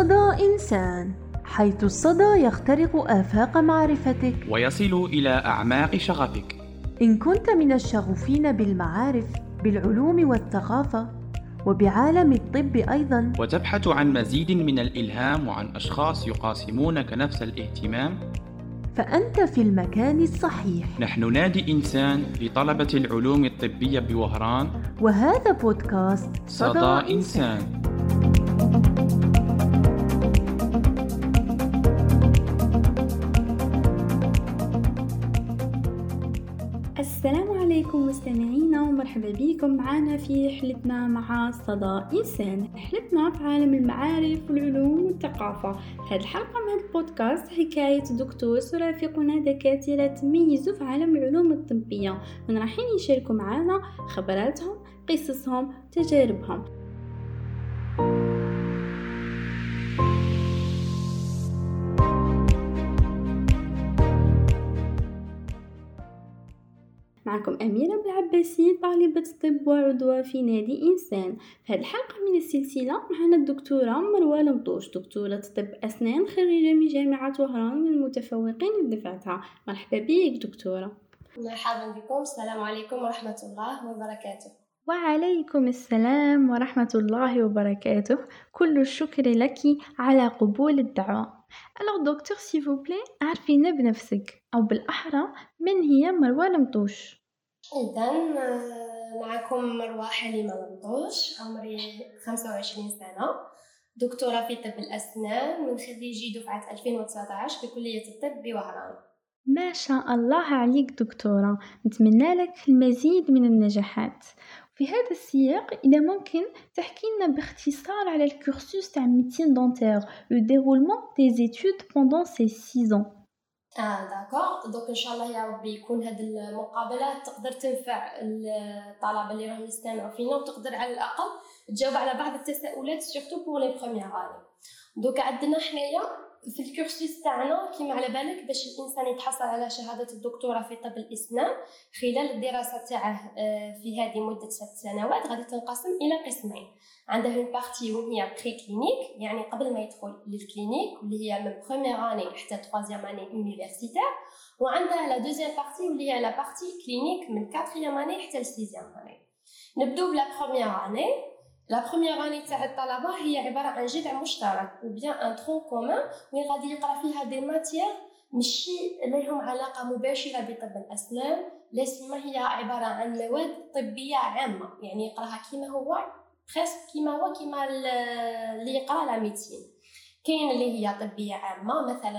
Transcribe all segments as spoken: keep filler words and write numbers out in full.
صدى إنسان، حيث الصدى يخترق آفاق معرفتك ويصل إلى أعماق شغفك. إن كنت من الشغوفين بالمعارف، بالعلوم والثقافة، وبعالم الطب أيضاً، وتبحث عن مزيد من الإلهام وعن أشخاص يقاسمونك نفس الاهتمام، فأنت في المكان الصحيح. نحن نادي إنسان لطلبة العلوم الطبية بوهران، وهذا بودكاست صدى, صدى إنسان, إنسان. السلام عليكم مستمعينا، ومرحبا بكم معنا في رحلتنا مع صدى إنسان، رحلتنا في عالم المعارف والعلوم والثقافة. هذه الحلقة من هذا البودكاست حكاية دكتور ترافقنا دكاترة تميزوا في عالم العلوم الطبية، من رايحين يشاركوا معنا خبراتهم، قصصهم، تجاربهم. معكم أميرة بالعباسي، طالبة طب وعضوة في نادي إنسان. في هذه الحلقة من السلسلة معنا الدكتورة مروة المطوش، دكتورة طب أسنان خريجة من جامعة وهران، من المتفوقين بدفعتها. مرحبا بك دكتورة. مرحبا بكم، السلام عليكم ورحمة الله وبركاته. وعليكم السلام ورحمة الله وبركاته. كل الشكر لك على قبول الدعوة. Alors docteur s'il vous plaît عرفينا بنفسك، أو بالأحرى من هي مروة المطوش؟ إذا معكم مروة حليمة المطوش، عمري خمسة وعشرين سنة، دكتورة في طب الأسنان من خريجي دفعة ألفين وتسعة عشر بكلية الطب بوهران. ما شاء الله عليك دكتورة، نتمنى لك المزيد من النجاحات. في هذا السياق إذا ممكن تحكي لنا باختصار على الكورسوس تاع ميديسين دونتير، لو ديرولمون دي زيتود بوندون سي سيز ans. اه داكور، دوك ان شاء الله يا ربي يكون هذه المقابله تقدر تنفع الطلبه اللي راهم يستمعوا فينا، وتقدر على الاقل تجاوب على بعض التساؤلات سورتو بور لي بروميير اني. دوك عندنا حنايا في الكورسوس تاعنا كيما على بالك، باش الانسان يتحصل على شهاده الدكتوراه في طب الاسنان خلال الدراسه تاعه في هذه مده ست سنوات، غادي تنقسم الى قسمين. عندها اون بارتي وين هي بري كلينيك، يعني قبل ما يدخل للكلينيك، واللي هي من بروميير اني حتى ثلاثيام اني يونيفرسيتير. وعندها لا دوزيام بارتي واللي هي لا بارتي كلينيك من كاتريام اني حتى لسيزيام اني. نبداو بلا بروميير اني. لا بروميير اني تاع الطلبه هي عباره عن جذع مشترك و بيان ان ترون كومون، وين غادي يقرا فيها دي ماتيير ماشي لهم علاقه مباشره بطب الاسنان، لا سيما هي عباره عن مواد طبيه عامه، يعني يقراها كيما هو بريسك كيما هو كيما اللي يقرا لا ميديسين. كاين اللي هي طبيه عامه مثلا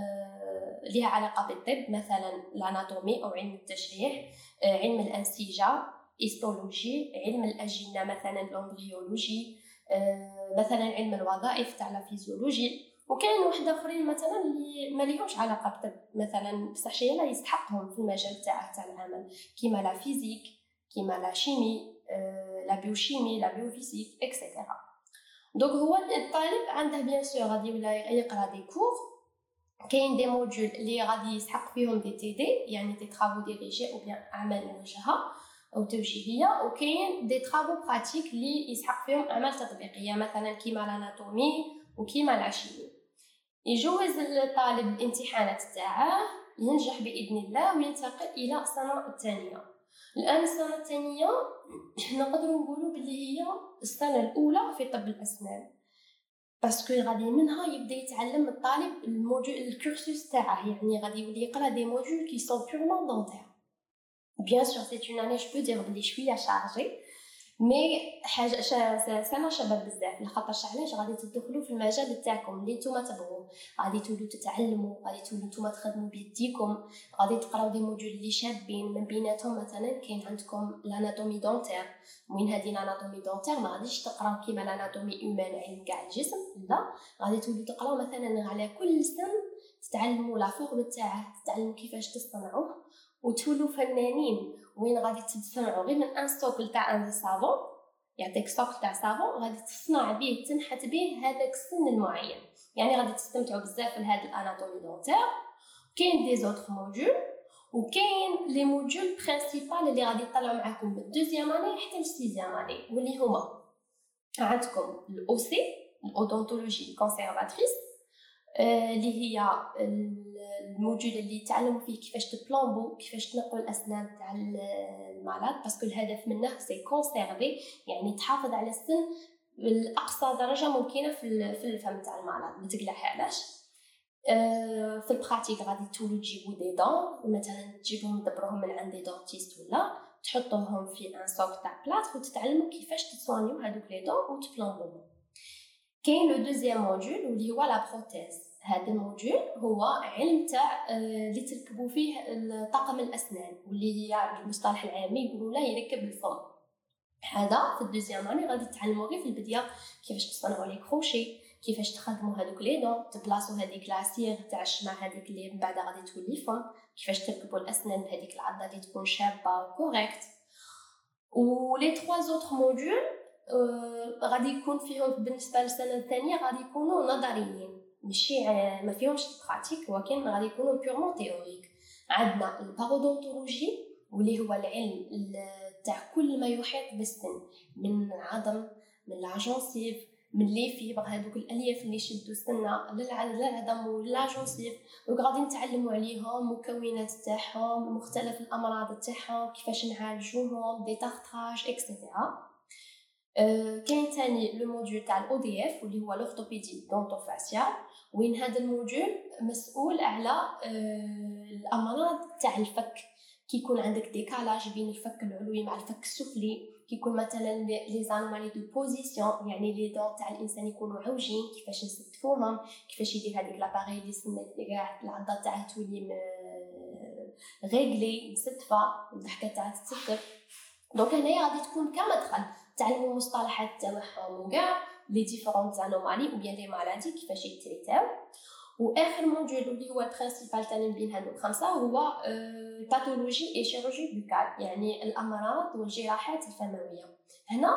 آه لها علاقه بالطب، مثلا الاناتومي او علم التشريح، آه علم الانسجه، هيستولوجي، علم الاجنه مثلا الامبريولوجي، آه مثلا علم الوظائف تاع لا فيزيولوجي. وكاين واحد اخرين مثلا اللي ما ليهمش علاقه بالطب، مثلا بصح شي لا يستحقهم في المجال تاعه تاع العمل، كيما لا فيزيك، كيما لا شيمي، آه لا بيوشيمي، لا بيوفيزيك اكسيتيرا. دونك هو الطالب عنده بيان سور غادي ولا يقرا دي كور، كاين دي موديول اللي غادي يسحق فيهم دي تي دي، يعني دي ترافو ديريجي او بيان اعمال موجهه او توجيهيه، وكاين دي ترافو براتيك اللي يسحق فيهم اعمال تطبيقيه، مثلا كيما الاناتومي وكيما العشيمي. يجوز الطالب الامتحانات تاعه، ينجح باذن الله وينتقل الى السنه الثانيه. الان السنه الثانيه نقدروا نقولوا باللي هي السنه الاولى في طب الاسنان، باسكو غادي منها يبدا يتعلم الطالب الموجود الكورسوس تاعه، يعني غادي يولي يقرا دي موديول كي سون بيورمون دونتير. بيان سور سي اون اني جو بو دير بلي شويه شارجي، مي حاجه سنه شباب بزاف، لخاطرش علاش غادي تدخلوا في المجال تاعكم اللي نتوما تبغوه، غادي تولوا تتعلموا، غادي تولوا نتوما تخدموا بيديكم، غادي تقراو دي موديول اللي شابين. من بيناتهم مثلا كاين عندكم الاناتومي دونتير، وين هذه الاناتومي دونتير ما غاديش تقراو كيما الاناتومي هيومان علم كاع الجسم، لا غادي تولوا تقراو مثلا على كل سن تتعلموا لا فورم تاعه، تتعلموا كيفاش تصنعوه، وتولوا فنانين وين غادي تصنعوا غير من ان ستوك تاع ان صابون، يعطيك ستوك تاع صابون غادي تصنع به تنحت به هذاك السن المعين، يعني غادي تستمتعوا بزاف لهذا الاناتومي دونتير. كاين دي زوتر موديول، وكاين لي موديول برينسيبال اللي غادي يطلعوا معكم من دوزيام اني حتى لسيزيام اني، واللي هما عندكم الاو سي الاودونتولوجي كونسيرفاتريس اللي هي الموجود اللي تعلموا فيه كيفاش تبلومبو كيفاش تنقوا الاسنان تاع المرض، باسكو الهدف منه سي كونسيرفي، يعني تحافظ على السن بالاقصى درجه ممكنه في في الفم تاع المرض ما تقلعهاش. في البراتيك غادي تولوا تجيبوا دي دون، مثلا تجيبهم تدبروهم من عند دي دونتيست ولا تحطوهم في ان سوك تاع بلاط وتتعلموا كيفاش تصوانيو هذوك لي دون وتبلومبوهم. كاين لو دوزيام موديول واللي هو لا بروتيز. هذا الموديول هو علم تاع اللي تركبوا فيه طاقم الاسنان، واللي هي بالمصطلح العامي يقولوا له يركب الفم. هذا في الدوزيام اني غادي تعلموا غير في البدايه كيفاش تصنعوا لي كروشي، كيفاش تخدموا هذوك لي دون، تبلاصوا هذيك لاسيغ تاع الشمع هذيك اللي من بعد غادي تولي فم، كيفاش تركبوا الاسنان بهذيك العضه اللي تكون شابه وكوريكت. ولي ثلاث زوتر موديول أه غادي يكون فيهم بالنسبه للسنه الثانيه غادي يكونوا نظريين، ماشي ما فيهمش براتيك، ولكن غادي يكونوا بيورمون تيوريك. عندنا البارودونتولوجي واللي هو العلم تاع كل ما يحيط بالسن، من العظم، من العجونسيف، من لي فيبر، هذوك الالياف اللي يشدوا السنه للعظم واللاجونسيف، وغادي نتعلموا عليهم مكونات تاعهم، مختلف الامراض تاعهم، كيفاش نعالجوهم، دي تارتراج اكسيتيرا. أه كاين ثاني لو موديول تاع الاو دي اف واللي هو لورتوبيدي دونتوفاسيال، وين هذا الموديول مسؤول على أه الامراض تاع الفك، كي يكون عندك ديكالاج بين الفك العلوي مع الفك السفلي، كي يكون مثلا لي زانومالي دو بوزيسيون، يعني لي دون تاع الانسان يكونوا عوجين، كيفاش نستفوهم، كيفاش يدير هذيك لاباري اللي سنت كاع العضه تاعها تولي ريغلي مستفه والضحكه تاعها تتستف. دونك هنايا غادي تكون كمدخل تعلموا المصطلحات تاعهم وكاع لي ديفيرونت زانومالي او بيان لي مالادي كيفاش يتريتاو. واخر موديول اللي هو البرينسيبال تاع بين هادو خمسه هو الباثولوجي اي شيروجي بوكال، يعني الامراض والجراحات الفمويه. هنا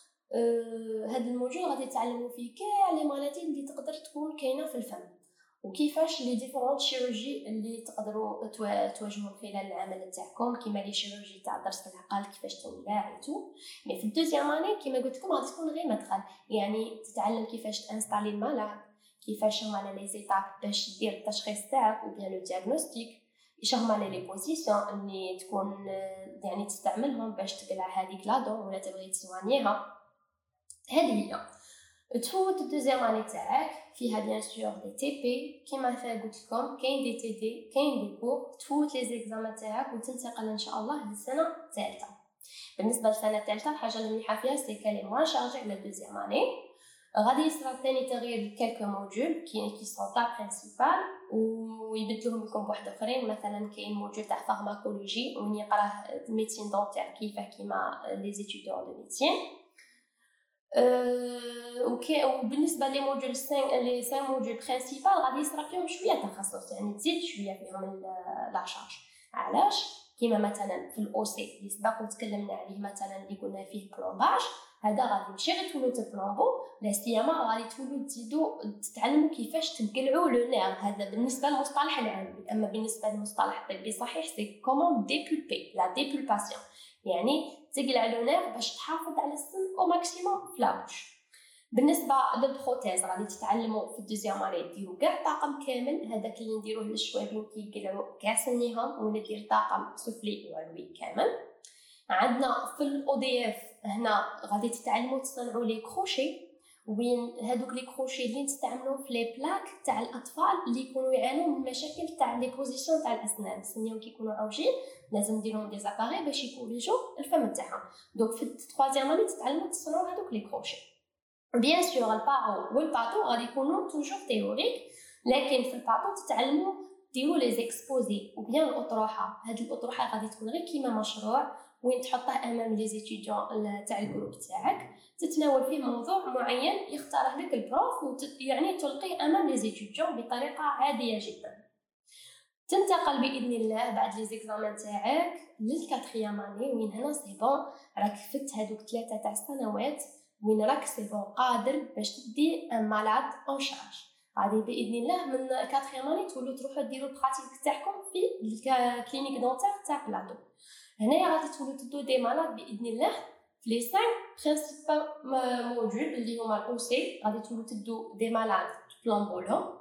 هذا الموديول غادي تعلموا فيه كاع لي مالادي اللي تقدر تكون كاينه في الفم، وكيفاش لي ديفيرونت شيروجي اللي تقدروا تواجهوا خلال العمل تاعكم، كيما لي شيروجي تاع ضرس العقل كيفاش تنباع ايتو. مي في الدوزيام اني كيما قلت لكم غادي تكون غير مدخل، يعني تتعلم كيفاش تانستالي المالاد، كيفاش هما لي زيتاب باش دير التشخيص تاعك وبيان لو دياغنوستيك، ايش هما لي بوزيسيون اللي تكون يعني تستعملهم باش تقلع هذيك لا دون ولا تبغي تسوانيها. هذه هي تفوت الدوزيام اني تاعك فيها بيان سور دي تي بي كيما قلت لكم، كاين دي تي دي، كاين دي كور، تفوت لي زيكزامان تاعك وتنتقل ان شاء الله للسنه الثالثه. بالنسبه للسنه الثالثه الحاجه اللي مليحه فيها سي كالي موان شارجي على الدوزيام اني. غادي يصرا ثاني تغيير كالكو موديول كي كي سون تا برينسيبال ويبدلوهم لكم بواحد اخرين. مثلا كاين موديول تاع فارماكولوجي وين يقراه ميديسين دونتير كيفاه كيما لي زيتيديون دو ميديسين. أه وكي وبالنسبه لي موديول خمسة لي خمسة موديول برينسيبال غادي يصرا فيهم شويه تخصص، يعني تزيد شويه فيهم لا شارج. علاش؟ كيما مثلا في الاو سي اللي سبق وتكلمنا عليه، مثلا اللي قلنا فيه بلومباج، هذا غادي ماشي غير تولوا تبلومبو، لا سيما غادي تولوا تزيدوا تتعلموا كيفاش تنقلعوا لو نير. هذا بالنسبه للمصطلح العام، اما بالنسبه للمصطلح الطبي صحيح سي كومون ديبولبي لا ديبولباسيون، يعني تقلع لو نير باش تحافظ على السن او ماكسيموم في لابوش. بالنسبه للبروتيز غادي تتعلموا في الدوزيام اني ديروا كاع طاقم كامل، هذاك اللي نديروه للشوابين كيقلعوا كاع سنيهم، وندير طاقم سفلي وعلوي كامل. عندنا في الاو دي اف هنا غادي تتعلموا تصنعوا لي كروشي، وين هذوك لي كروشي اللي نستعملوهم في لي بلاك تاع الاطفال اللي يكونوا يعانوا من مشاكل تاع لي بوزيسيون تاع الاسنان، سنيهم كيكونوا عوجين لازم نديرهم دي زاباري باش يكوريجوا الفم تاعهم. دونك في الثالثيام اني تتعلموا تصنعوا هذوك لي كروشي. بيان سور البارو والباتو غادي يكونوا توجور تيوريك، لكن في الباتو تتعلموا ديروا لي زيكسبوزي وبيان الاطروحه. هاد الاطروحه غادي تكون غير كيما مشروع وين تحطه امام لي زيتيديون تاع الجروب تاعك، تتناول فيه موضوع معين يختاره لك البروف وت... يعني تلقيه امام لي زيتيديون بطريقه عاديه جدا. تنتقل باذن الله بعد لي زيكزامان تاعك للكاتريام اني، وين هنا سي بون راك فت هذوك ثلاثه تاع السنوات وين راك سي بون قادر باش تدي ان مالاد اون شارج. غادي باذن الله من كاتريام اني تولوا تروحوا ديروا البراتيك تاعكم في الكلينيك دونتير تاع بلاطو. هنايا غادي تولوا تدو دي مالاد باذن الله في لي خمسة برينسيبال موديول اللي هما الاو سي غادي تولوا تدو دي مالاد تبلومبولهم.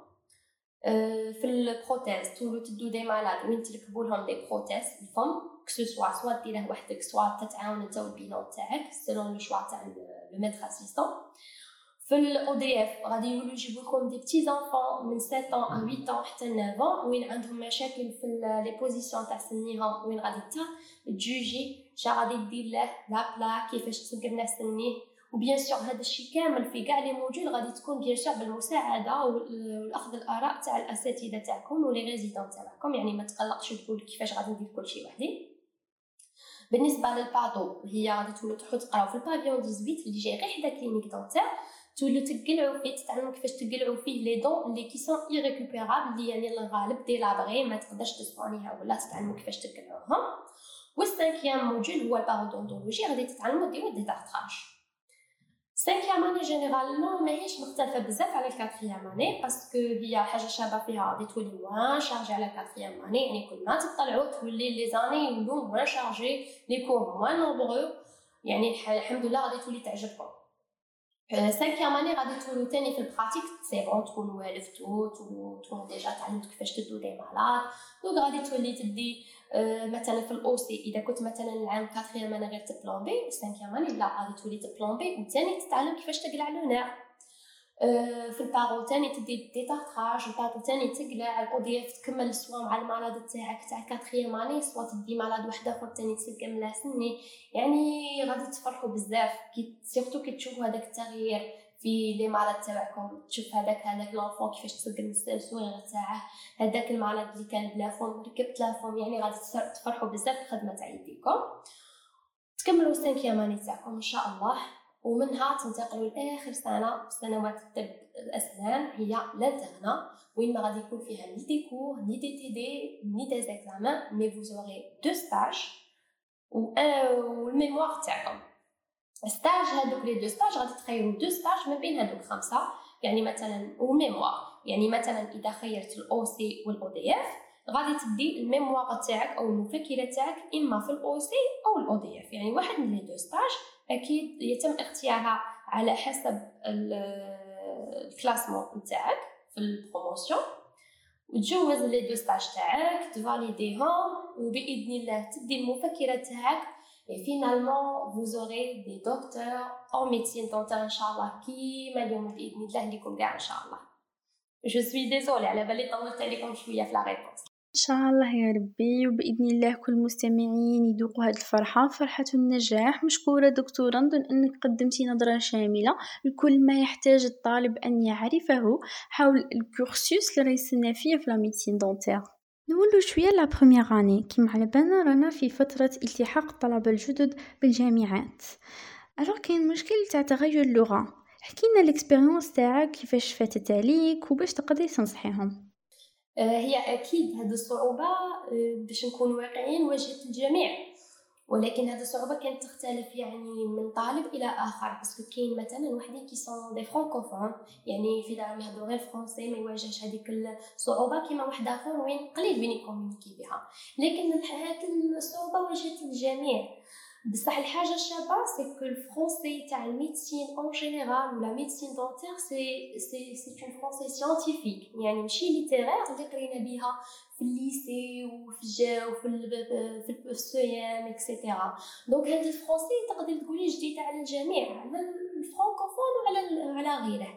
في البروتيز تولوا تدو دي مالاد وين تركبوا لهم دي بروتيز الفم كسو سوا سوا ديره وحدك سوا تتعاون انت والبينون تاعك سيلون لو شوا تاع لو ميتر اسيستون. في الاو دي اف غادي يولوا يجيبوا لكم دي بتي زانفون من سبعة ans à ثمانية ans حتى تسعة وين عندهم مشاكل في لي بوزيسيون تاع سنيهم وين غادي تا تجوجي شا غادي دير له لا بلا كيفاش تسقرنا سنيه. وبيان سور هذا الشيء كامل في كاع لي موديول غادي تكون بيان سور بالمساعده والاخذ الاراء تاع الاساتذه تاعكم ولي ريزيدون تاعكم، يعني ما تقلقش تقول كيفاش غادي ندير كل شيء وحدي. بالنسبه للباطو هي غادي تولوا تروحوا تقراو في البافيون ثمانية عشر اللي جاي غير حدا كلينيك دونتير، تولوا تقلعوا فيه تتعلموا كيفاش تقلعوا فيه لي دون اللي كي سون ايريكوبيرابل اللي يعني الغالب دي لابغي ما تقدرش تصونيها ولا تتعلموا كيفاش تقلعوهم. والسانكيام موديول هو البارودونتولوجي غادي تتعلموا ديروا دي تارتراج. سانكيام اني جينيرالمون ماهيش مختلفه بزاف على الكاتريام اني باسكو هي حاجه شابه فيها غادي تولي موان شارجي على الكاتريام اني، يعني كل ما تطلعوا تولي لي زاني يولوا موان شارجي لي كور موان نومبرو، يعني الحمد لله غادي تولي تعجبكم. سانكيام اني غادي تولوا تاني في البراتيك سي بون تكونوا والفتوا تولوا تكونوا ديجا تعلمتوا كيفاش تدو دي مالاد. دونك غادي تولي تدي أه مثلا في الاو سي اذا كنت مثلا العام كاتريام انا غير تبلومبي سانكيام اني لا غادي تولي تبلومبي وثاني تتعلم كيفاش تقلع لو نير. أه في البارو ثاني تدي دي تارتراج البارو ثاني تقلع الاو دي اف تكمل سوا مع المالاد تاعك تاع كاتريام اني سوا تدي مالاد واحد اخر ثاني تسقم له سني، يعني غادي تفرحوا بزاف كي سيرتو كي تشوفوا هذاك التغيير في لي مالاد تاعكم، تشوف هذاك هذاك لونفون كيفاش تسقم السويغ تاعه، هذاك المالاد اللي كان بلا فم ركبت له فم، يعني غادي تفرحوا بزاف الخدمه تاع يديكم. تكملوا سانكيام اني تاعكم ان شاء الله ومنها تنتقلوا لاخر سنه سنوات الطب الاسنان هي لانترنا وين ما غادي يكون فيها ني دي كور ني دي تي دي ني دي زيكزامان مي فو زوري دو ستاج و الميموار تاعكم. ستاج هذوك لي دو ستاج غادي تخيروا دو ستاج ما بين هذوك خمسه، يعني مثلا وميموار، يعني مثلا اذا خيرت الاو سي والاو دي اف غادي تدي الميموار تاعك او المفكره تاعك اما في الاو سي او الاو دي اف، يعني واحد من لي دو ستاج اكيد يتم اختيارها على حسب الكلاسمون نتاعك في البروموسيون وتجوز لي دو ستاج تاعك تفاليديهم وباذن الله تدي المفكره تاعك. et finalement vous aurez des docteurs en médecine dentaire ان شاء الله كيما اليوم باذن الله ليكم كاع ان شاء الله. je suis désolée على بالي طولت عليكم شويه في لا ريبونس. ان شاء الله يا ربي وباذن الله كل المستمعين يذوقوا هذه الفرحه فرحه النجاح. مشكوره دكتوره، نظن انك قدمتي نظره شامله لكل ما يحتاج الطالب ان يعرفه حول الكورسوس اللي رايسلنا فيه في لا ميديسين دونتير. نولو شويه لا بروميير اني كيما على بالنا رانا في فتره التحاق الطلبه الجدد بالجامعات. الوغ كاين مشكل تاع تغير اللغه، حكينا الاكسبيريونس تاعك كيفاش فاتت عليك وباش تقدري تنصحيهم. هي اكيد هذه الصعوبه باش نكون واقعيين واجهت الجميع، ولكن هذه الصعوبه كانت تختلف يعني من طالب الى اخر، باسكو كاين مثلا وحدين كي سون دي فرانكوفون يعني في دارهم يهضروا غير فرونسي ما يواجهش هذيك الصعوبه كيما واحد اخر وين قليل بين يكومونيكي بها، لكن هذه الصعوبه واجهت الجميع. بصح الحاجه الشابه سي كو الفرونسي تاع الميديسين اون جينيرال ولا ميديسين دونتير سي سي سي اون فرونسي سيانتيفيك، يعني ماشي ليتيرير اللي قرينا بها في الليسي وفي الجا وفي في السيام اكسيتيرا. دونك هذا الفرونسي تقدر تقولي جديد على الجميع، على الفرانكوفون وعلى على غيره.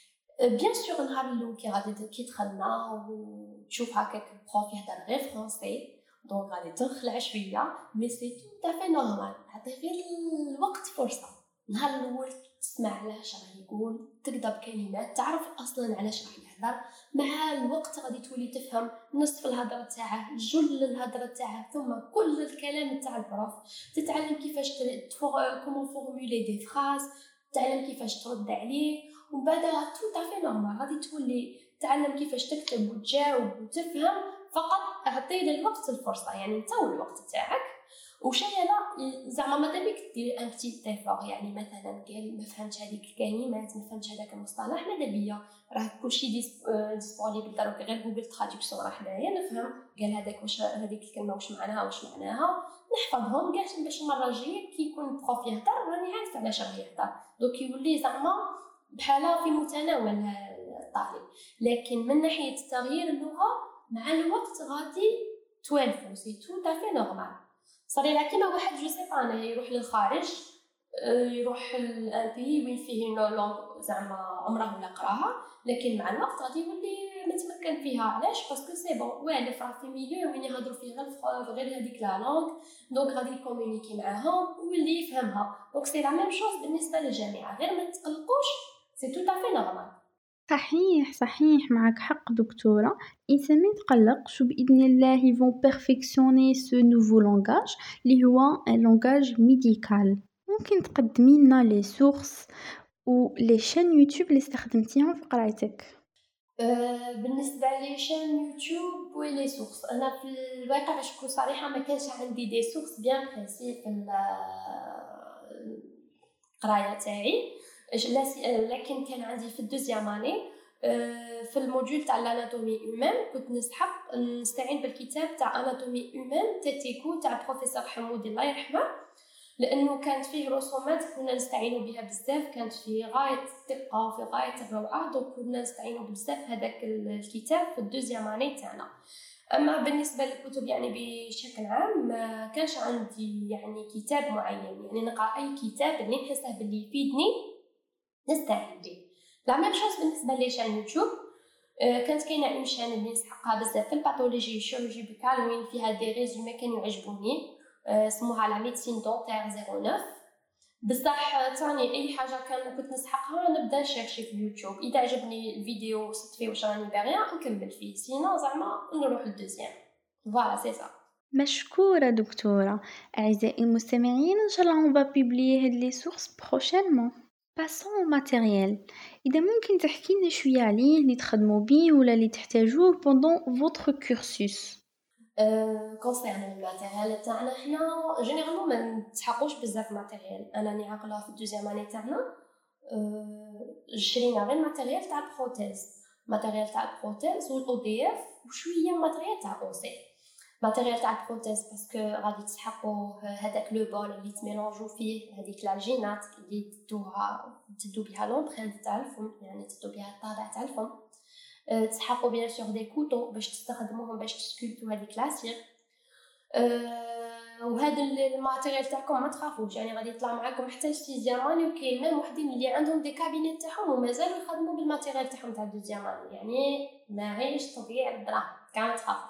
بيان سور نهار الاول كي غادي كي دخلنا وتشوف هكاك البروف يهضر غير فرونسي دونك غادي تنخلع شويه، مي سي تو تافي نورمال، عطي غير الوقت فرصه. نهار الاول تسمع علاش راه يقول تكذب كلمات تعرف اصلا علاش راه يهضر، مع الوقت غادي تولي تفهم نصف الهضره تاعه جل الهضره تاعه ثم كل الكلام تاع البروف، تتعلم كيفاش كومون فورمولي دي فراز، تعلم كيفاش ترد عليه، ومن بعد تو تافي نورمال غادي تولي تعلم كيفاش تكتب وتجاوب وتفهم، فقط اعطي للوقت الفرصه، يعني انت والوقت تاعك. وشي لا زعما ماذا بيك دير ان بتي تيفور، يعني مثلا قال ما فهمتش هذيك الكلمات، ما فهمتش هذاك المصطلح، ماذا بيا راه كلشي ديسبونيبل دروك غير جوجل تراديكسيون راه حدايا نفهم قال هذاك واش هذيك الكلمه واش معناها واش معناها نحفظهم كاع باش المره الجايه كي يكون البروف يهضر راني عارف علاش راه يهضر، دوك يولي زعما بحاله في متناول الطالب. لكن من ناحيه تغيير اللغه مع الوقت غادي توالفو، سي تو تافي نورمال. صريح كيما واحد جو سي با انا يروح للخارج يروح لان بي وين فيه نو لونغ زعما عمره ولا قراها، لكن مع الوقت غادي يولي متمكن فيها. علاش؟ باسكو سي بون والف راه في ميليو وين يهضروا فيه غير غير هذيك لا لونغ، دونك غادي يكومونيكي معاهم ويولي يفهمها. دونك سي لا ميم شوز بالنسبه للجامعه، غير ما تقلقوش سي تو تافي نورمال. صحيح صحيح معك حق دكتورة، الإنسان ما يتقلقش وبإذن الله ils vont perfectionner ce nouveau langage اللي هو un langage médical. ممكن تقدمي لنا لي سورس و لي شين يوتيوب اللي استخدمتيهم في قرايتك؟ أه بالنسبه لي شان يوتيوب ولي سورس، انا في الواقع باش نكون صريحه ما كانش عندي دي سورس بيان بريسي في القرايه تاعي، لكن كان عندي في الدوزيام اني في الموديول تاع الاناتومي هيومان كنت نسحق نستعين بالكتاب تاع اناتومي هيومان تيتيكو تاع بروفيسور حمود الله يرحمه، لانه كانت فيه رسومات كنا نستعينوا بها بزاف، كانت في غايه الدقه وفي غايه الروعه، دونك كنا نستعينوا بزاف هذاك الكتاب في الدوزيام اني تاعنا. اما بالنسبه للكتب يعني بشكل عام ما كانش عندي يعني كتاب معين، يعني نقرا اي كتاب اللي نحسه باللي يفيدني نستعين به. لا ميم شوز بالنسبه لي شان يوتيوب، كانت كاينه اون شان اللي نسحقها بزاف في الباثولوجي الشيرورجي بيكال وين فيها دي ريزومي كانوا يعجبوني، اسمها لا ميديسين دونتير صفر تسعة. بصح ثاني اي حاجه كان كنت نسحقها نبدا نشيرشي في اليوتيوب، اذا عجبني الفيديو وصلت فيه واش راني باغيه نكمل فيه، سينو زعما نروح للدوزيام. فوالا سي سا. مشكورة دكتورة. أعزائي المستمعين إن شاء الله on va publier هاد لي سورس prochainement. Passons au matériel. إذا ممكن تحكي لنا شوية عليه اللي تخدموا بيه ولا اللي تحتاجوه pendant votre cursus. كونسيرن الماتيريال تاعنا حنا جينيرالمون ما نتحقوش بزاف ماتيريال. انا ني عاقله في الدوزيام اني تاعنا شرينا غير ماتيريال تاع البروتيز، ماتيريال تاع البروتيز والاو دي اف وشويه ماتيريال تاع او سي. ماتيريال تاع البروتيز باسكو غادي تسحقوا هذاك لو بول اللي تميلونجو فيه هذيك لاجينات اللي تدوها تدو بها لومبرينت تاع الفم، يعني تدو بها الطابع تاع الفم. تسحقوا بيان سور دي كوتو باش تستخدموهم باش تسكولتو هذيك لاسير. أه وهذا الماتيريال تاعكم ما تخافوش، يعني غادي يطلع معاكم حتى السيزياماني، وكاين ميم وحدين اللي عندهم دي كابينيت تاعهم ومازالوا يخدموا بالماتيريال تاعهم تاع الدوزياماني، يعني ماهيش تضييع الدراهم كاع ما تخافوش.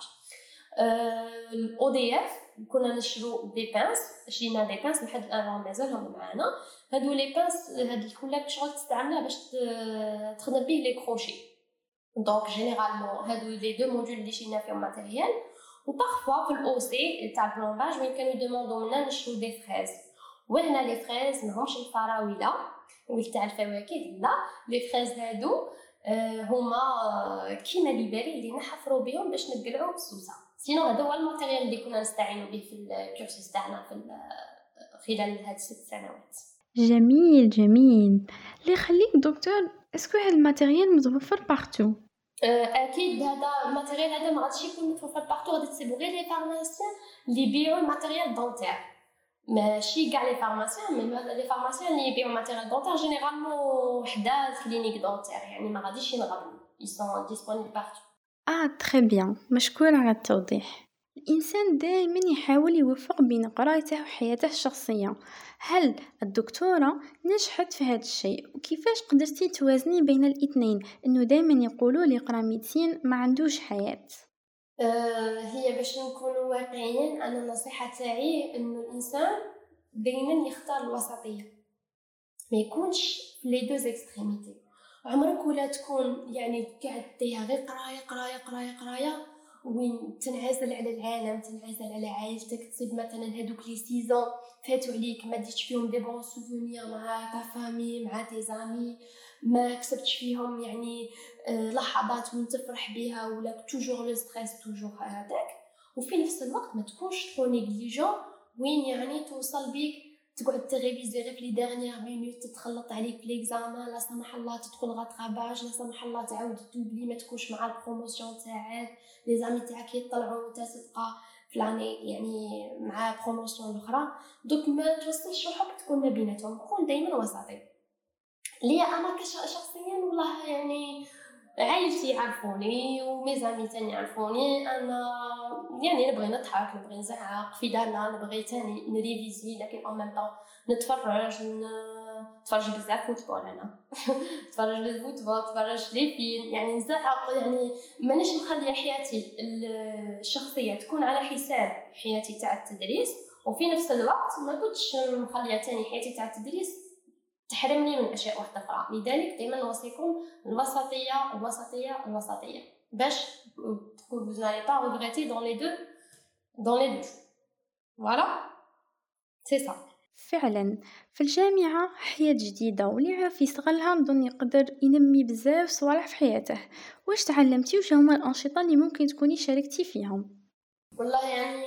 الاو دي اف كنا نشرو دي بانس، شرينا دي بانس لحد الان مازالهم معانا. هادو لي بانس هاد الكولاب شغل تستعملها باش تخدم به لي كروشي. دونك جينيرالمون هادو لي دو موديول اللي شرينا فيهم ماتيريال. وبارفوا في الاو سي تاع البلومباج وين كانوا يدوموندو منا نشرو دي فريز، وهنا لي فريز ماهمش الفراوله ولا تاع الفواكه، لا لي فريز هادو هما كيما ليبري اللي نحفروا بهم باش نقلعوا السوسه. سينو هذا هو الماتيريال اللي كنا نستعينوا به في الكورسوس تاعنا في خلال هاد الست سنوات. جميل جميل. اللي يخليك دكتور اسكو هاد الماتيريال متوفر بارتو؟ اكيد هذا الماتيريال هذا ما غاديش يكون متوفر بارتو، غادي تسيبو غير لي فارماسيان اللي يبيعوا الماتيريال دونتير، ماشي كاع لي فارماسيان، مي لي فارماسيان اللي يبيعوا ماتيريال دونتير جينيرالمون وحده كلينيك دونتير، يعني ما غاديش ينغبنوا ils sont disponibles partout. اه تري بيان، مشكور على التوضيح. الإنسان دائما يحاول يوفق بين قرايته وحياته الشخصية. هل الدكتورة نجحت في هذا الشيء؟ وكيفاش قدرتي توازني بين الاثنين؟ انه دائما يقولوا لي قرا ميديسين ما عندوش حياة. أه هي باش نكونوا واقعيين، انا النصيحة تاعي انه الانسان دائما يختار الوسطية، ما يكونش لي دو اكستريميتي. عمرك ولا تكون يعني قاعد ديها غير قرايه قرايه قرايه قرايه وين تنعزل على العالم، تنعزل على عائلتك، تصيب مثلا هذوك لي سيزون فاتوا عليك ما ديتش فيهم دي بون سوفونير مع تا فامي مع تي زامي، ما كسبتش فيهم يعني لحظات وين تفرح بها، ولا توجور لو ستريس توجور هذاك. وفي نفس الوقت ما تكونش ترو نيجليجون وين يعني توصل بيك تقعد تغيفيزي غير في لي ديرنيير مينوت، تتخلط عليك في ليكزامان، لا سمح الله تدخل غاتراباج، لا سمح الله تعاود دوبلي ما تكونش مع البروموسيون تاعك، لي زامي تاعك يطلعوا وانت تبقى في لاني يعني مع بروموسيون الاخرى. دوك ما توصلش روحك تكون ما بيناتهم، كون دائما وسطي. ليا انا كشخصيا والله يعني عائلتي يعرفوني وميزامي تاني يعرفوني انا يعني نبغي نضحك، نبغي نزعق في دارنا، نبغي تاني نريفيزي، لكن او ميم طون نتفرج نتفرج بزاف فوتبول، انا نتفرج بالفوتبول، نتفرج لي فيلم، يعني نزعق، يعني مانيش نخلي حياتي الشخصيه تكون على حساب حياتي تاع التدريس، وفي نفس الوقت ما كنتش نخليها تاني حياتي تاع التدريس تحرمني من اشياء واحده اخرى. لذلك دائما نوصيكم الوسطيه الوسطيه الوسطيه باش تكون vous n'allez pas regretter dans les deux dans les deux voilà c'est ça. فعلا في الجامعة حياة جديدة، واللي يعرف يستغلها نظن يقدر ينمي بزاف صوالح في حياته. واش تعلمتي وش هما الأنشطة اللي ممكن تكوني شاركتي فيهم؟ والله يعني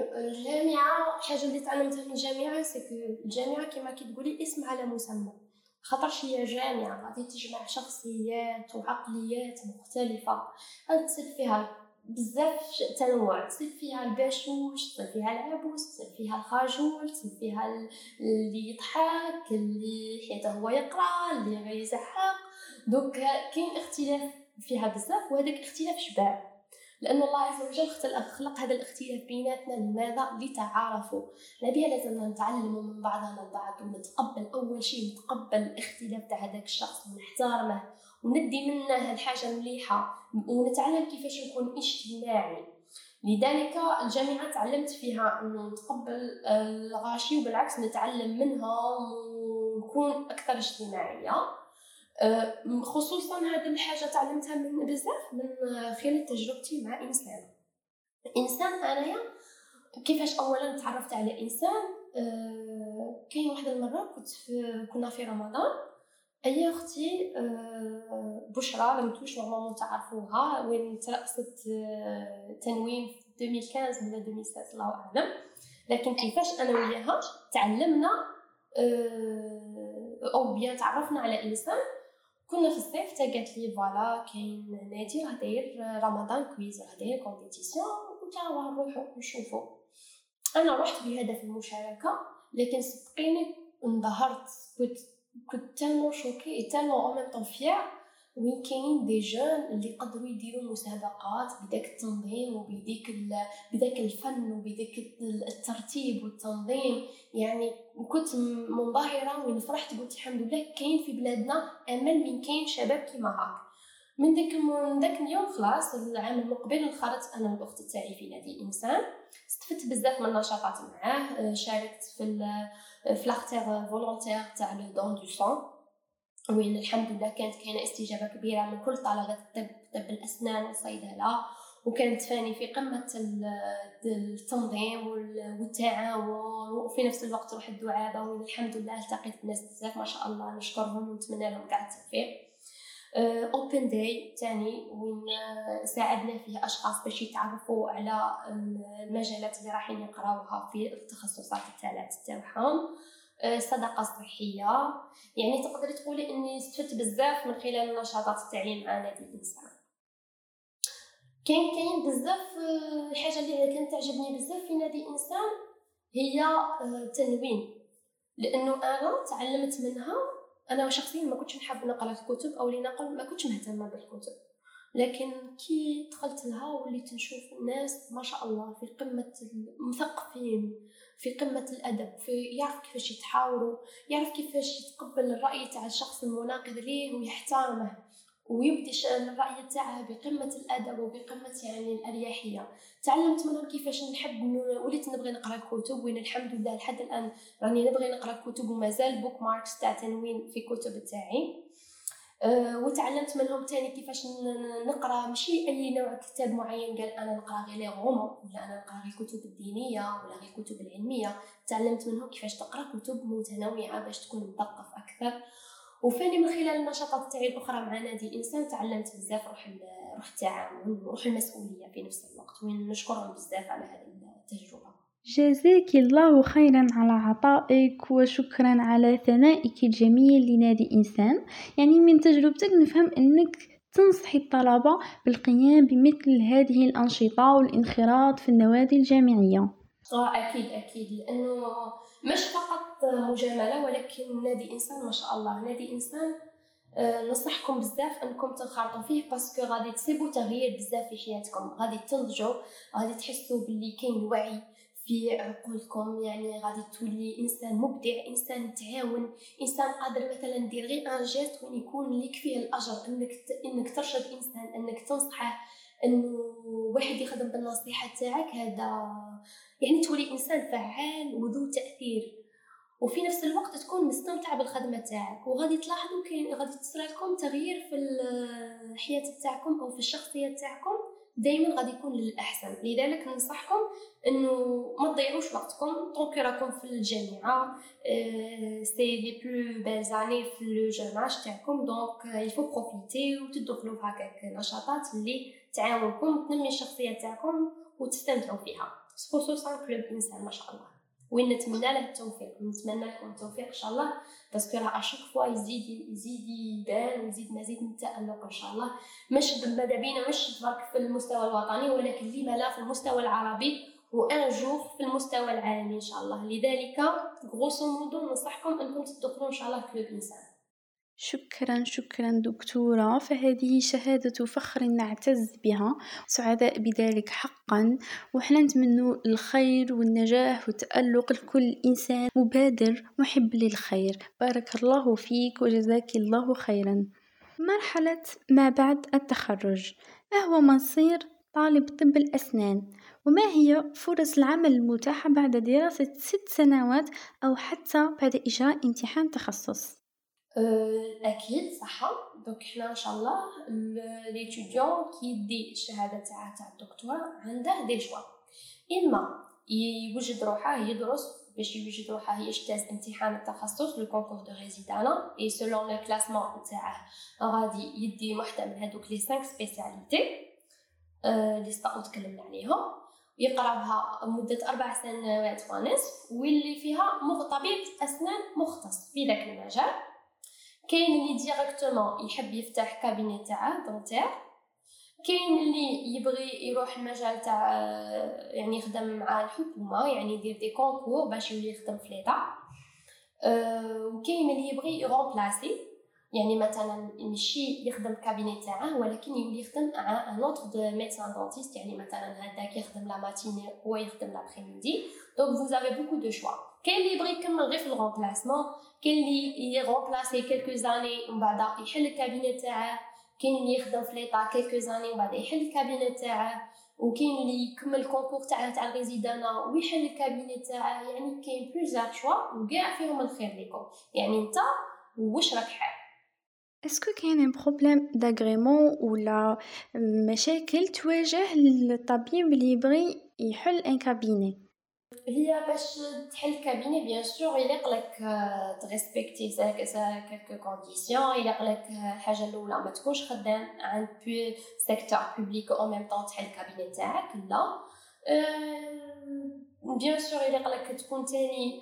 الجامعة حاجة اللي تعلمتها من الجامعة سكو الجامعة كما كي تقولي اسم على مسمى، خاطرش هي جامعة غادي تجمع شخصيات وعقليات مختلفة، غادي تصير فيها بزاف تنوع، تصير فيها الباشوش، تصير فيها العبوس، تصير فيها الخجول، تصير فيها اللي يضحك، اللي حياته هو يقرا، اللي غير يزحق. دوك كاين اختلاف فيها بزاف، وهذاك اختلاف شباب، لأن الله عز وجل خلق هذا الاختلاف بيناتنا. لماذا؟ لتعارفوا. نبيها لازم نتعلموا من بعضنا البعض، ونتقبل أول شيء نتقبل الاختلاف تاع هذاك الشخص ونحترمه وندي منه الحاجة المليحة، ونتعلم كيفاش نكون اجتماعي. لذلك الجامعة تعلمت فيها أنه نتقبل الغاشي، وبالعكس نتعلم منهم ونكون أكثر اجتماعية. خصوصا هذه الحاجة تعلمتها من بزاف من خلال تجربتي مع إنسان إنسان أنايا كيفاش أولا تعرفت على إنسان. كاين واحدة المرة كنت في كنا في رمضان، أي أختي بشرى لم توش نورمالمون تعرفوها، وين ترأست تنوين في ألفين وخمسطاش ولا ألفين وستة الله أعلم. لكن كيفاش أنا وياها تعلمنا أو بيان تعرفنا على إنسان. كنا في الصيف، تا قالت لي فوالا كاين نادي راه داير رمضان كويز، راه داير كومبيتيسيون، قلت لها نروحو نشوفو. انا رحت بهدف المشاركه، لكن صدقيني انبهرت، كنت كنت تالمون شوكي تالمون او ميم طون فيير وين كاين دي جون اللي قدروا يديروا مسابقات بداك التنظيم وبديك بداك الفن وبداك الترتيب والتنظيم. يعني كنت منبهره وين فرحت، قلت الحمد لله كاين في بلادنا امل من كاين شباب كيما هاك. من داك من داك اليوم خلاص العام المقبل خرجت انا والاخت تاعي في نادي انسان، استفدت بزاف من النشاطات معاه، شاركت في في لاختير فولونتير تاع لو دون دو سون، وين الحمد لله كانت كاينه استجابه كبيره من كل طلبه الطب، طب الاسنان والصيدله، وكانت فاني في قمه التنظيم والتعاون، وفي نفس الوقت روح الدعابه، وين الحمد لله التقيت بناس بزاف ما شاء الله نشكرهم ونتمنى لهم كاع التوفيق. اوبن داي تاني وين ساعدنا فيه اشخاص باش يتعرفوا على المجالات اللي رايحين يقراوها في التخصصات الثلاث تاعهم. صدقه صحيه، يعني تقدري تقولي اني استفدت بزاف من خلال النشاطات تاعي مع نادي الانسان. كاين كاين بزاف الحاجه اللي كانت تعجبني بزاف في نادي الانسان هي التنوين، لانه انا تعلمت منها. انا شخصيا ما كنتش نحب نقرا الكتب، او لنقل ما كنتش مهتمه بالكتب، لكن كي دخلت لها وليت نشوف الناس ما شاء الله في قمه المثقفين، في قمه الادب، في يعرف كيفاش يتحاوروا، يعرف كيفاش يتقبل الراي تاع الشخص المناقض ليه ويحترمه ويبدي الرأي تاعها بقمة الأدب وبقمة يعني الأريحية. تعلمت منهم كيفاش نحب، وليت نبغي نقرأ الكتب، وين الحمد لله لحد الآن راني نبغي نقرأ الكتب ومازال بوك ماركس تاع تنوين في كتب تاعي. أه وتعلمت منهم تاني كيفاش نقرأ ماشي أي نوع كتاب معين، قال أنا نقرأ غير لي غومون، ولا أنا نقرأ غير الكتب الدينية ولا غير الكتب العلمية. تعلمت منهم كيفاش تقرأ كتب متنوعة باش تكون مثقف أكثر. وفاني من خلال النشاطات تاعي الاخرى مع نادي انسان تعلمت بزاف روح روح التعاون وروح المسؤوليه في نفس الوقت، وين نشكرهم بزاف على هذه التجربه. جزاك الله خيرا على عطائك، وشكرا على ثنائك الجميل لنادي إنسان. يعني من تجربتك نفهم أنك تنصحي الطلبة بالقيام بمثل هذه الأنشطة والانخراط في النوادي الجامعية. اه اكيد اكيد، لانه مش فقط مجامله، ولكن نادي انسان ما شاء الله، نادي انسان أه نصحكم بزاف انكم تنخرطوا فيه، باسكو غادي تسيبوا تغيير بزاف في حياتكم، غادي تنضجوا، غادي تحسوا باللي كاين وعي في عقولكم، يعني غادي تولي انسان مبدع، انسان تعاون، انسان قادر مثلا دير غير ان جيست وين يكون ليك فيه الاجر، انك ت... انك ترشد انسان، انك تنصحه، انه واحد يخدم بالنصيحه تاعك، هذا يعني تولي انسان فعال وذو تاثير، وفي نفس الوقت تكون مستمتع بالخدمه تاعك، وغادي تلاحظوا كاين غادي تصرى لكم تغيير في الحياه تاعكم او في الشخصيه تاعكم، دائما غادي يكون للاحسن. لذلك ننصحكم انه ما تضيعوش وقتكم طونك راكم في الجامعه، سي لي بلو بيل زاني في لو جوناج تاعكم، دونك يفو بروفيتي وتدخلوا في هكاك نشاطات اللي تعاونكم وتنمي الشخصيه تاعكم وتستمتعوا فيها، خصوصا كلوب انسان ما شاء الله، وين نتمنى له التوفيق، نتمنى لكم التوفيق ان شاء الله، باسكو راه اشاك فوا يزيد يزيد يبان ويزيد مزيد من التالق ان شاء الله، مش ماذا بينا مش برك في المستوى الوطني، ولكن لما لا في المستوى العربي، وان جور في المستوى العالمي ان شاء الله. لذلك غروسو مودو ننصحكم انكم تدخلوا ان شاء الله كلوب انسان. شكرا شكرا دكتورة، فهذه شهادة فخر نعتز بها، سعداء بذلك حقا، وحنا نتمنى الخير والنجاح والتألق لكل إنسان مبادر محب للخير. بارك الله فيك وجزاك الله خيرا. مرحلة ما بعد التخرج، ما هو مصير طالب طب الأسنان؟ وما هي فرص العمل المتاحة بعد دراسة ست سنوات أو حتى بعد إجراء امتحان تخصص؟ اكيد صح. دونك حنا ان شاء الله ليتيديون كي يدي الشهاده تاع تاع الدكتوراه عنده دي شوا، اما يوجد روحه يدرس باش يوجد روحه يجتاز امتحان التخصص لو كونكور دو ريزيدانا، اي سولون لو كلاسمون تاعه غادي يدي وحده من هذوك لي خمسة سبيسياليتي اللي سبق تكلمنا عليهم، يقراها مده اربع سنوات ونصف، واللي فيها طبيب اسنان مختص في ذاك المجال. كاين اللي ديريكتومون يحب يفتح كابيني تاعه دونتير، كاين اللي يبغي يروح المجال تاع يعني يخدم مع الحكومه، يعني يدير دي كونكور باش يولي يخدم في ليطا، أه وكاين اللي يبغي يغومبلاسي، يعني مثلا ماشي يخدم كابيني تاعه ولكن يولي يخدم مع ان اوتر دو ميدسان دونتيست، يعني مثلا هذاك يخدم لا ماتيني هو يخدم لابريميدي، دونك فوز افي بوكو دو شوا. كاين اللي يبغي يكمل غير في الغومبلاسمون، كاين اللي يغومبلاسي كلكو زاني ومن بعد يحل الكابيني تاعه، كاين اللي يخدم في ليطا كلكو زاني ومن بعد يحل الكابيني تاعه، وكاين اللي يكمل الكونكور تاعه تاع الريزيدانا ويحل الكابيني تاعه، يعني كاين بلوزيغ شوا وكاع فيهم الخير ليكم، يعني انت واش راك حاب. اسكو كاين بروبليم داغريمون ولا مشاكل تواجه الطبيب اللي يبغي يحل ان كابيني؟ هي باش تحل كابيني بيان سور يليق لك تريسبكتي ساك سا كلكو كونديسيون، يليق لك الحاجه الاولى ما تكونش خدام عند بي سيكتور بوبليك او ميم طون تحل كابيني تاعك، لا بيان سور يليق لك تكون تاني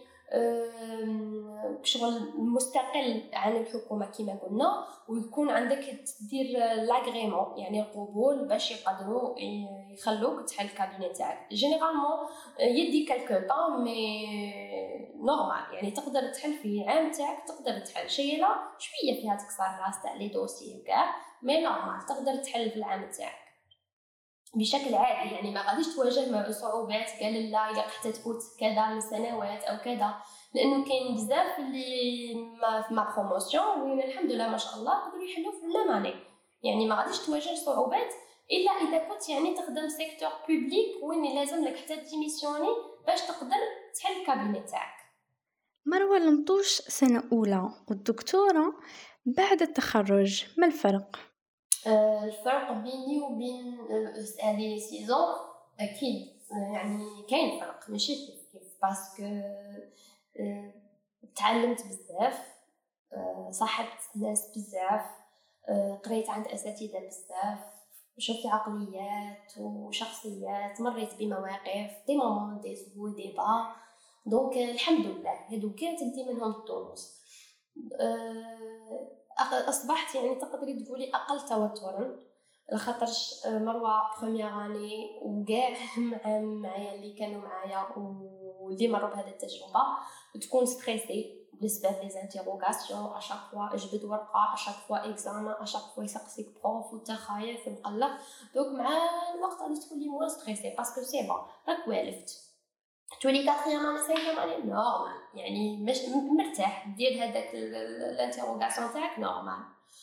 شغل مستقل عن الحكومه كما قلنا، ويكون عندك تدير لاغريمون يعني القبول باش يقدروا يخلوك تحل الكابيني تاعك. جينيرالمون يدي كالكو طون مي نورمال، يعني تقدر تحل في العام تاعك، تقدر تحل شيء لا شويه فيها تكسر راس تاع لي دوسي وكاع، مي نورمال تقدر تحل في العام تاعك بشكل عادي، يعني ما غاديش تواجه صعوبات قال لا الا حتى تفوت كذا من سنوات او كذا، لانه كاين بزاف اللي ما في ما بروموسيون وين الحمد لله ما شاء الله قدروا يحلوا في لا ماني، يعني ما غاديش تواجه صعوبات الا اذا كنت يعني تخدم سيكتور بوبليك وين لازم لك حتى ديميسيوني باش تقدر تحل الكابيني تاعك. مروه المطوش سنه اولى والدكتوره بعد التخرج، ما الفرق؟ أه الفرق بيني وبين هذه سيزون اكيد يعني كاين فرق ماشي كيف، باسكو أه تعلمت بزاف، أه صاحبت ناس بزاف، أه قريت عند اساتذه بزاف، وشوفي عقليات وشخصيات، مريت بمواقف دي مامون دي زو دي با. دونك الحمد لله هادو كاع تدي منهم الدروس. اصبحت يعني تقدري تقولي اقل توترا، لخاطرش مروه بروميير اني وكاع مع معايا اللي كانوا معايا واللي مروا بهذه التجربه تكون ستريسي بسبب لي زانتيروغاسيون اشاك فوا اجبد ورقه، اشاك فوا اكزامان، اشاك فوا يسقسيك بروف وانت خايف ومقلق. دوك مع الوقت غادي تولي موان ستريسي باسكو سي با راك والفت تولي كاتريام انا سانكيام اني نورمال، يعني مش مرتاح دير هذاك الانتيروغاسيون تاعك نورمال.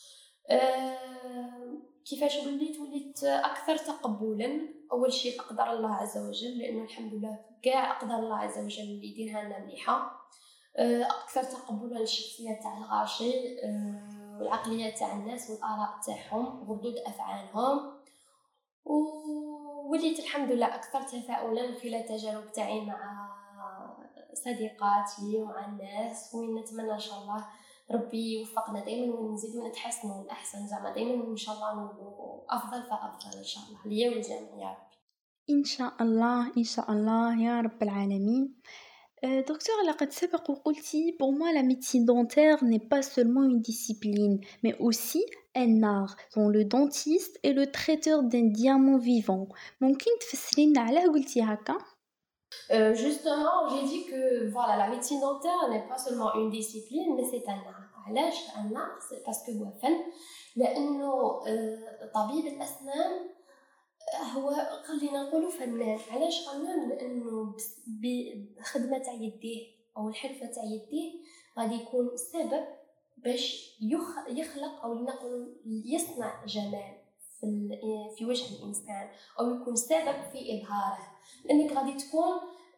أه كيفاش وليت وليت اكثر تقبلا. اول شيء اقدر الله عز وجل، لانه الحمد لله كاع اقدر الله عز وجل اللي يديرها لنا مليحه. اكثر تقبلا للشخصيه تاع الغاشي والعقليه تاع الناس والاراء تاعهم وردود افعالهم، ووليت الحمد لله اكثر تفاؤلا من خلال التجارب تاعي مع صديقاتي ومع الناس، وين نتمنى ان شاء الله ربي يوفقنا دائما ونزيدو نتحسنوا الاحسن، زعما دائما ان شاء الله نولوا افضل فافضل ان شاء الله ليا وللجميع يا رب. إن شاء الله إن شاء الله يا رب العالمين. Euh, docteur, لقد سبق وقلتي pour moi la médecine dentaire n'est pas seulement une discipline mais aussi un art dont le dentiste est le traiteur d'un diamant vivant. ممكن تفسري لنا علاه قلتي هكا؟ Euh, justement, j'ai dit que voilà, la médecine dentaire n'est pas seulement une discipline, mais c'est un art. علاش un art؟ c'est parce que هو فن، لأنه طبيب الأسنان هو خلينا نقولوا فنان. علاش فنان؟ لأنه بخدمة تاع يديه أو الحرفة تاع يديه غادي يكون سبب باش يخلق أو نقول يصنع جمال في في وجه الإنسان، أو يكون سبب في إظهاره، لأنك غادي تكون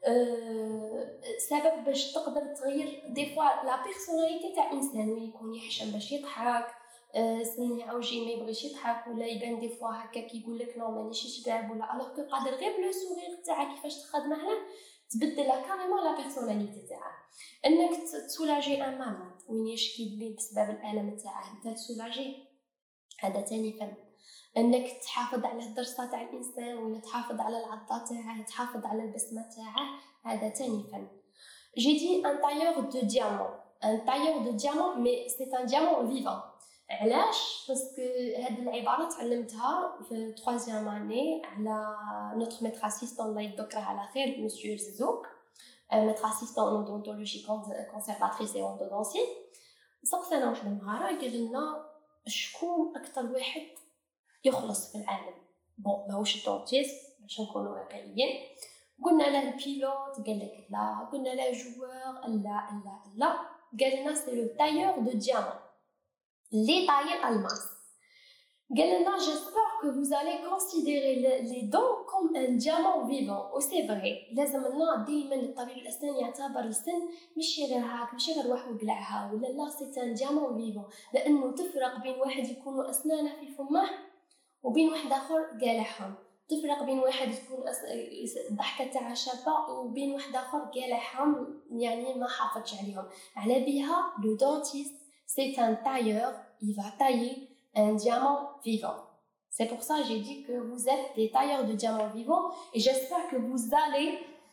سبب باش تقدر تغير دي فوا لا بيرسوناليتي تاع إنسان، وين يكون يحشم باش يضحك، سني عوجي ما يبغيش يضحك، ولا يبان دي فوا هكا كيقول لك نو مانيش شباب، ولا الوغ كو قادر غير بلو سورير تاعك كيفاش تخدمه له تبدل كاريمون لا بيرسوناليتي تاعه. انك تسولاجي ان مالاد وين يشكي لي بسبب الالم تاعه انت تسولاجي، هذا تاني فن. انك تحافظ على الدرسه تاع الانسان ولا تحافظ على العضه تاعه، تحافظ على البسمه تاعه، هذا تاني فن. جي دي ان تايور دو ديامون، ان تايور دو ديامون مي سي ان ديامون فيفون. علاش؟ باسكو هاد العباره تعلمتها في troisième année على نوتر ميتر اسيستون الله يذكره على خير مسيو زوك، ميتر اسيستون اودونتولوجي كونسيرفاتريس اي اودونسي. سقسنا واحد النهار قال لنا شكون اكثر واحد يخلص في العالم. بون ماهوش الدونتيست باش نكونوا واقعيين، قلنا له البيلوت قال لك لا، قلنا له جوار لا لا لا، قال لنا سي لو تايور دو ديامون لي طاير الماس. قال لنا جيسبر كو vous allez considérer les dents comme un diamant vivant. و سي فري لازم لنا ديما الطبيب الاسنان يعتبر السن ماشي غير هاك، ماشي غير واحد وقلعها ولا لا، سي ان ديامون فيفون، لانه تفرق بين واحد يكون اسنانه في فمه وبين واحد اخر قالعهم، تفرق بين واحد تكون الضحكه تاعها شابه وبين واحد اخر قالعهم يعني ما حافظش عليهم. على بها لو دونتيست c'est un tailleur, il va tailler un diamant vivant. C'est pour ça que j'ai dit que vous êtes des tailleurs de diamants vivants, et j'espère que vous allez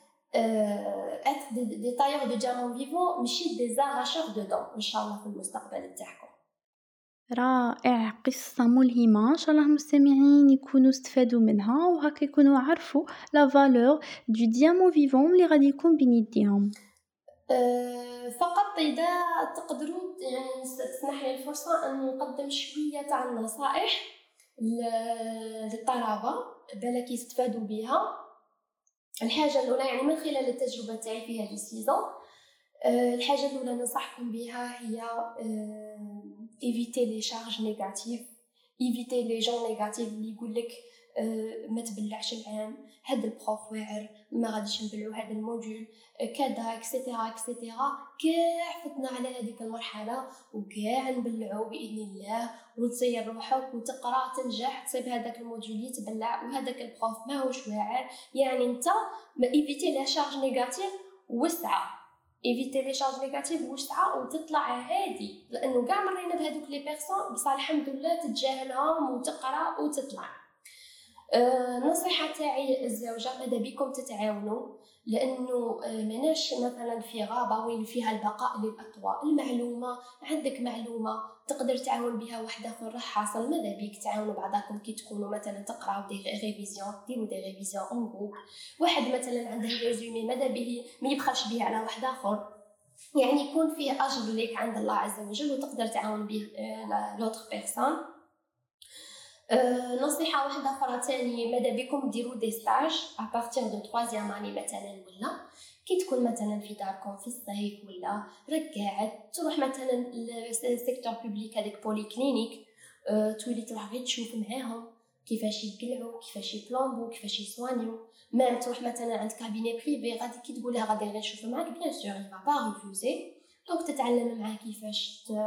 euh, être des, des tailleurs de diamants vivants, mais des arracheurs de dents, Inch'Allah, في المستقبل تاعكم. رائع، قصة ملهمة، إن شاء الله المستمعين يكونوا استفادوا منها وهكا يكونوا عرفوا لا فالور دو ديامون فيفون اللي غادي يكون بين يديهم. أه فقط إذا تقدروا يعني تسمح لي الفرصة أن نقدم شوية تاع النصائح للطلبة بالك يستفادوا بها. الحاجة الأولى يعني من خلال التجربة تاعي في هذه السيزون، أه الحاجة الأولى ننصحكم بها هي أه éviter les charges négatives، éviter les gens négatifs اللي يقول لك أه ما تبلعش العام، هذا البروف واعر ما غاديش نبلعو هذا الموديول كذا اكسيتيرا اكسيتيرا. كاع فتنا على هذيك المرحله وكاع نبلعو باذن الله، وتصير روحك وتقرا تنجح تصيب هذاك الموديول يتبلع وهذاك البروف ماهوش واعر. يعني انت ما ايفيتي لا شارج نيجاتيف وسعه، ايفيتي لي شارج نيجاتيف وسعه وتطلع عادي، لانه كاع مرينا بهذوك لي بيرسون بصح الحمد لله تتجاهلهم وتقرا وتطلع. النصيحة تاعي الزوجة ماذا بكم تتعاونوا، لأنه مناش مثلا في غابة وين فيها البقاء للأطوال. المعلومة عندك معلومة تقدر تعاون بها واحد آخر راح حاصل، ماذا بيك تعاونوا بعضكم كي تكونوا مثلا تقراو دي ريفيزيون، ديروا دي ريفيزيون اون جروب. واحد مثلا عنده ريزومي ماذا به ما يبخلش به على واحد آخر، يعني يكون فيه أجر لك عند الله عز وجل وتقدر تعاون به لوتر بيرسون. أه نصيحة واحدة أخرى تاني، ماذا بكم ديروا دي ستاج أبارتيغ دو تروازيام اني مثلا، ولا كي تكون مثلا في داركم في الصيف ولا راك قاعد تروح مثلا للسيكتور بوبليك هذاك بولي كلينيك، أه تولي تروح غير تشوف معاهم كيفاش يقلعوا كيفاش يبلومبو كيفاش يسوانيو. ما تروح مثلا عند كابيني بريفي غادي كي تقول لها غادي غير نشوف معاك بيان سور يفا با ريفوزي، دونك تتعلم معاه كيفاش ت...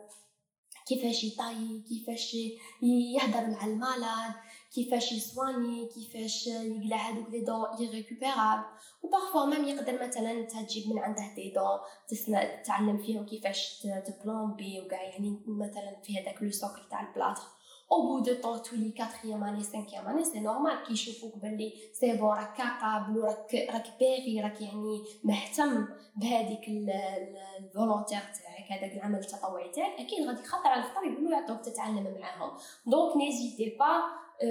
كيفاش يطاي كيفاش يهدر مع المالاد كيفاش يسواني كيفاش يقلع هذوك لي دون ايريكوبيرابل. وبارفوا ميم يقدر مثلا تجيب من عنده دي دون تسمع تتعلم فيهم كيفاش تبلومبي وكاع، يعني مثلا في هذاك لو سوكل تاع البلاطه او بو دو طون تولي كاتريام اني سانكيام اني سي نورمال كي يشوفوك بلي سي بون راك كابابل وراك راك باغي راك يعني مهتم بهذيك الفولونتير تاعك هذاك العمل التطوعي تاعك، اكيد غادي خطر على خطر يقولوا يعطوك تتعلم معاهم. دونك نيزيتي با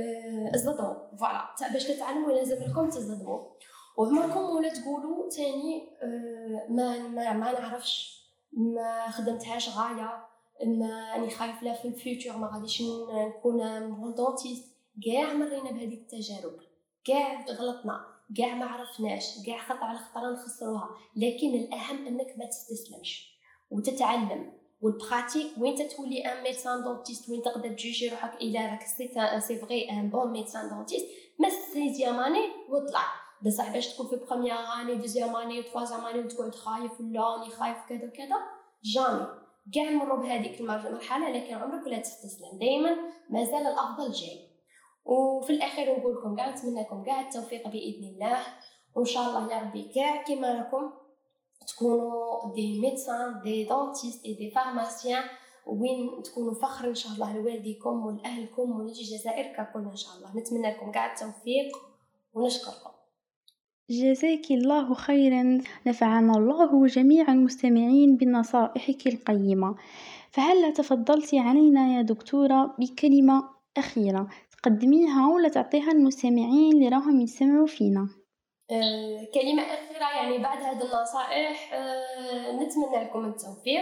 ازدموا فوالا باش تتعلموا لازم لكم تزدموا وعمركم ولا تقولوا تاني ما ما, ما نعرفش ما خدمتهاش غايه ما راني خايف لا في الفيوتشر ما غاديش نكون مونطونتيست. كاع مرينا بهذه التجارب، كاع غلطنا، كاع ما عرفناش، كاع خطا على خطره نخسروها، لكن الاهم انك ما تستسلمش وتتعلم. والبراتيك وين تتولي ان ميدسان دونتيست وين تقدر تجوجي روحك الى راك سي سي فري ان بون ميدسان دونتيست ما سيزيام اني وطلع بصح باش تكون في بروميير اني دوزيام اني وثوازيام اني وتقعد خايف ولا راني خايف كذا كذا جامي. كاع نمروا بهذيك المرحله لكن عمرك لا تستسلم، دائما مازال الافضل جاي. وفي الاخير نقول لكم كاع نتمنى لكم كاع التوفيق باذن الله، وان شاء الله يا ربي كاع كيما راكم تكونوا دي ميدسان دي دونتيست دي فارماسيان وين تكونوا فخر ان شاء الله لوالديكم ولاهلكم وللجزائر ككل ان شاء الله. نتمنى لكم كاع التوفيق ونشكركم. جزاك الله خيرا، نفعنا الله وجميع المستمعين بنصائحك القيمة. فهل تفضلتي علينا يا دكتورة بكلمة أخيرة تقدميها ولا تعطيها المستمعين اللي راهم يسمعوا فينا؟ أه كلمة أخيرة يعني بعد هذه النصائح أه نتمنى لكم التوفيق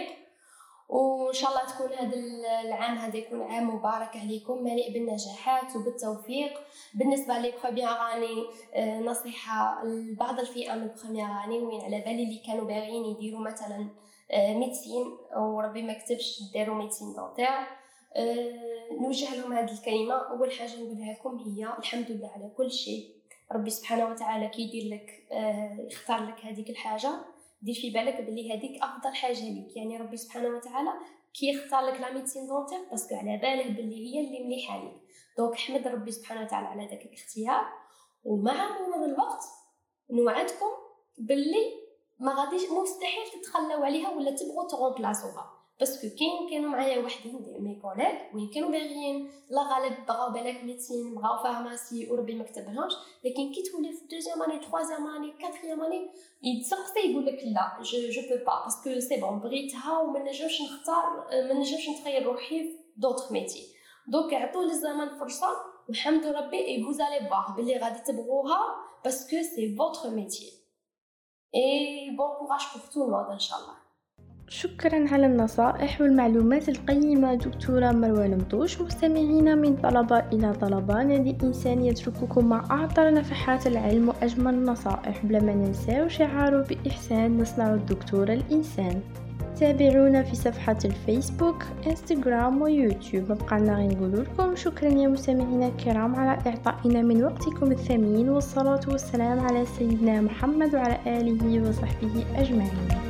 وإن شاء الله تكون هذا العام هذا يكون عام مبارك عليكم مليء بالنجاحات وبالتوفيق. بالنسبة لي بروميير اني أه نصيحة لبعض الفئة من بروميير اني وين على بالي اللي كانوا باغيين يديروا مثلا أه ميدسين وربي ما كتبش ديروا ميدسين دونتير، أه نوجه لهم هذه الكلمة. أول حاجة نقولها لكم هي الحمد لله على كل شيء. ربي سبحانه وتعالى كي يدير لك آه يختار لك هذيك الحاجه دير في بالك بلي هذيك افضل حاجه ليك، يعني ربي سبحانه وتعالى كي يختار لك لا ميديسين دونتير باسكو على باله بلي هي اللي مليحه ليك. دونك احمد ربي سبحانه وتعالى على ذاك الاختيار، ومع مرور الوقت نوعدكم بلي ما غاديش مستحيل تتخلوا عليها ولا تبغوا تغومبلاسوها، باسكو كاين كانوا معايا وحدين دي مي كوليك وين كانوا باغيين لا غالب بغاو بالك ميديسين بغاو فارماسي وربي ما كتبهمش، لكن كي تولي في دوزيام اني تروازيام اني كاتريام اني يتسقسي يقول لك لا جو جو بو با باسكو سي بون بغيتها وما نجمش نختار ما نجمش نتخيل روحي في دوطخ ميتي. دونك عطوا للزمن فرصه والحمد ربي اي vous allez voir بلي غادي تبغوها باسكو سي فوتر ميتي اي بون كوراج بور تو الموند ان شاء الله. شكرا على النصائح والمعلومات القيمة دكتورة مروى المطوش. مستمعينا من طلبة إلى طلبة، نادي إنسان يترككم مع أعطر نفحات العلم وأجمل النصائح بلا ما ننسى شعاره بإحسان نصنع الدكتور الإنسان. تابعونا في صفحة الفيسبوك انستغرام ويوتيوب. مبقالنا غير نقول لكم شكرا يا مستمعينا الكرام على إعطائنا من وقتكم الثمين، والصلاة والسلام على سيدنا محمد وعلى آله وصحبه أجمعين.